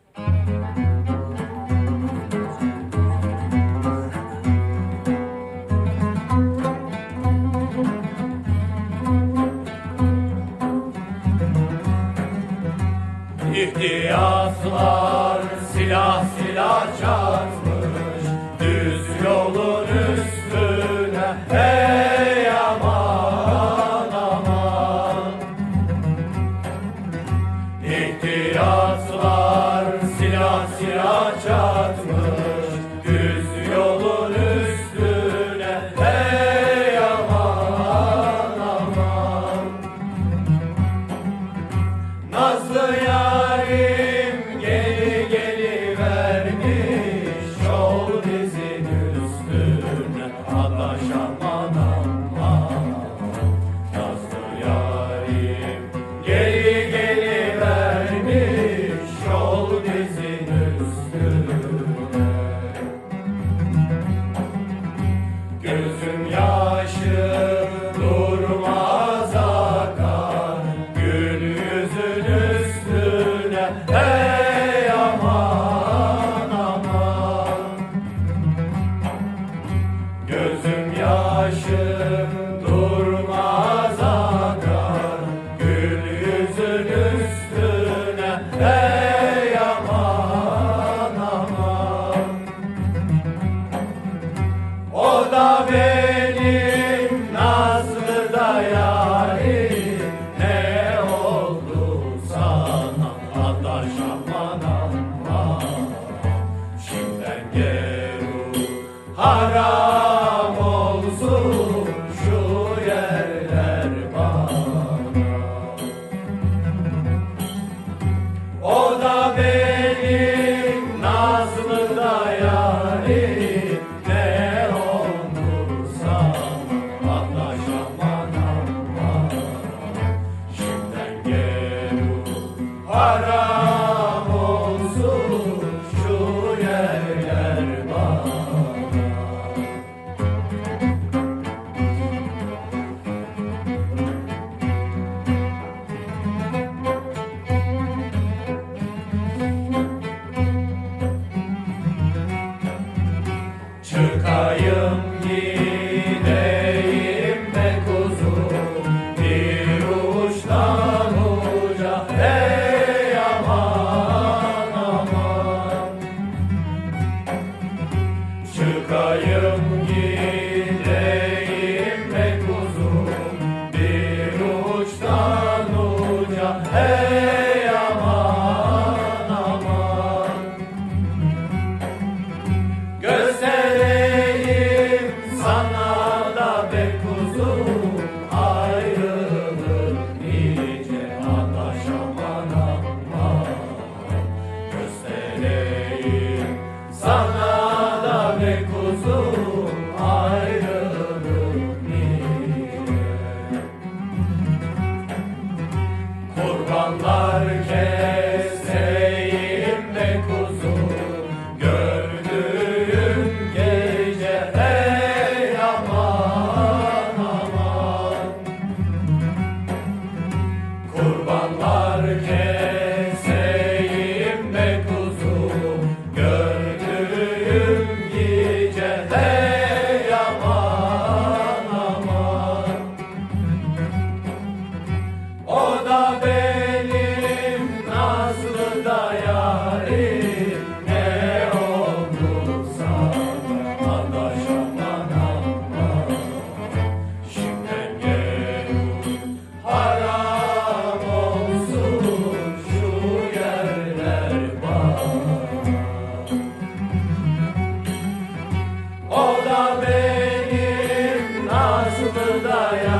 İhtiyatlar silah silah çarpmış düz yolun üstüne, hey aman aman. İhtiyatlar silah silah çarpmış düz yolun üstüne, hey aman aman. Nazlı yarim geri gelivermiş yol dizin üstüne, adaş aman aman. Nazlı yarim geri gelivermiş yol dizin üstüne. Gözüm yaşı durmaz akar gül yüzün üstüne, hey aman aman. Gözüm yaşı durmaz akar gül yüzün üstüne, hey aman aman. O da benim nazlı da yarim, ne oldu sana adaş aman aman. Şimdiden geru haram olsun şu yerler bana. O da benim nazlı da yarim, ne oldu sana adaş aman aman. Şimdiden geru haram olsun şu yerler bana. Çıkayım gideyim be kuzum bir uçtan uca, hey aman aman. Çıkayım gideyim be kuzum bir uçtan uca, hey aman aman. Göstereyim sana da be kuzum ayrılık nice, adaş aman aman. Göstereyim sana da be kuzum ayrılık nice. Kurbanlar keseyim be kuzum gördüğüm gece, hey aman aman. Kurbanlar keseyim be kuzum gördüğüm gece, hey aman aman. O da benim nazlı da yarim, ne oldu sana adaş aman aman. Şimdiden geru haram olsun şu yerler bana. O da benim nazlı da yarim,